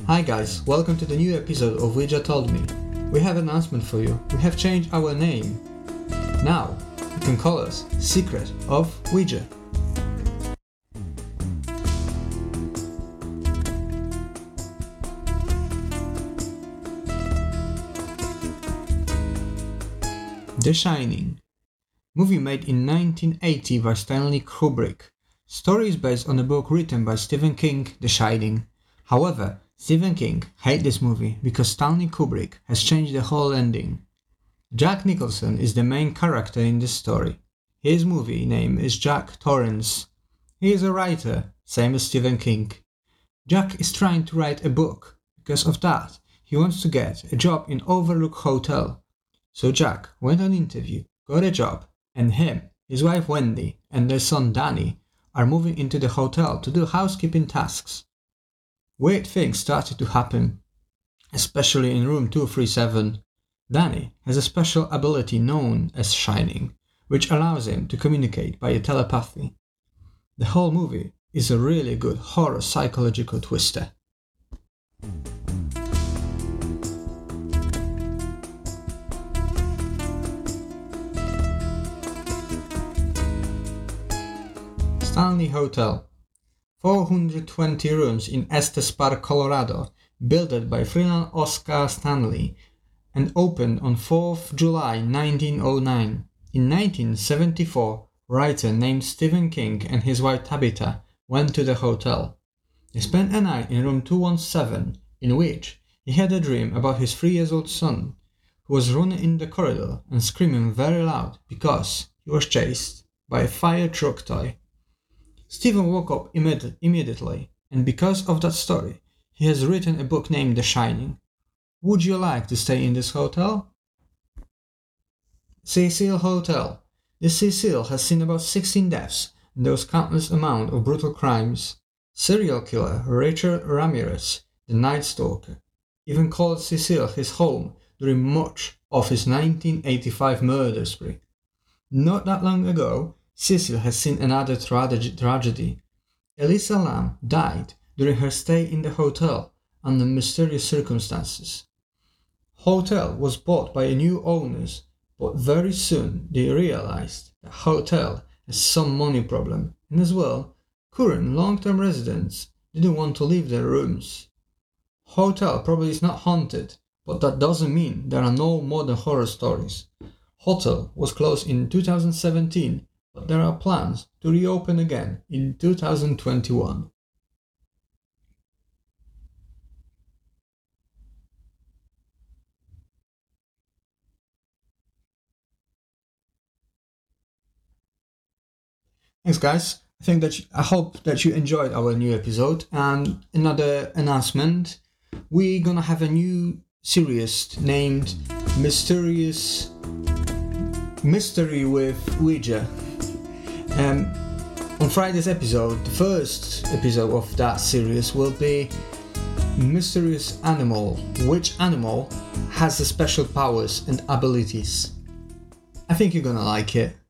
Hi guys, welcome to the new episode of Ouija Told Me. We have an announcement for you. We have changed our name. Now, you can call us Secret of Ouija. The Shining. Movie made in 1980 by Stanley Kubrick. Story is based on a book written by Stephen King, The Shining. However, Stephen King hates this movie because Stanley Kubrick has changed the whole ending. Jack Nicholson is the main character in this story. His movie name is Jack Torrance. He is a writer, same as Stephen King. Jack is trying to write a book. Because of that, he wants to get a job in Overlook Hotel. So Jack went on interview, got a job, and him, his wife Wendy, and their son Danny are moving into the hotel to do housekeeping tasks. Weird things started to happen, especially in room 237. Danny has a special ability known as Shining, which allows him to communicate by telepathy. The whole movie is a really good horror psychological twister. Stanley Hotel. 420 rooms in Estes Park, Colorado, built by freelance Oscar Stanley, and opened on 4th July 1909. In 1974, writer named Stephen King and his wife Tabitha went to the hotel. They spent a night in room 217, in which he had a dream about his 3-year-old son, who was running in the corridor and screaming very loud because he was chased by a fire truck toy. Stephen woke up immediately, and because of that story, he has written a book named The Shining. Would you like to stay in this hotel? Cecil Hotel. The Cecil has seen about 16 deaths, and there was countless amount of brutal crimes. Serial killer Richard Ramirez, the Night Stalker, even called Cecil his home during much of his 1985 murder spree. Not that long ago, Cecil has seen another tragedy. Elisa Lam died during her stay in the hotel under mysterious circumstances. Hotel was bought by new owners, but very soon they realized the hotel has some money problem, and as well, current long-term residents didn't want to leave their rooms. Hotel probably is not haunted, but that doesn't mean there are no modern horror stories. Hotel was closed in 2017, but there are plans to reopen again in 2021. Thanks guys, I hope that you enjoyed our new episode. And another announcement, we're gonna have a new series named Mystery with Ouija. On Friday's episode, the first episode of that series will be Mysterious Animal. Which animal has the special powers and abilities? I think you're gonna like it.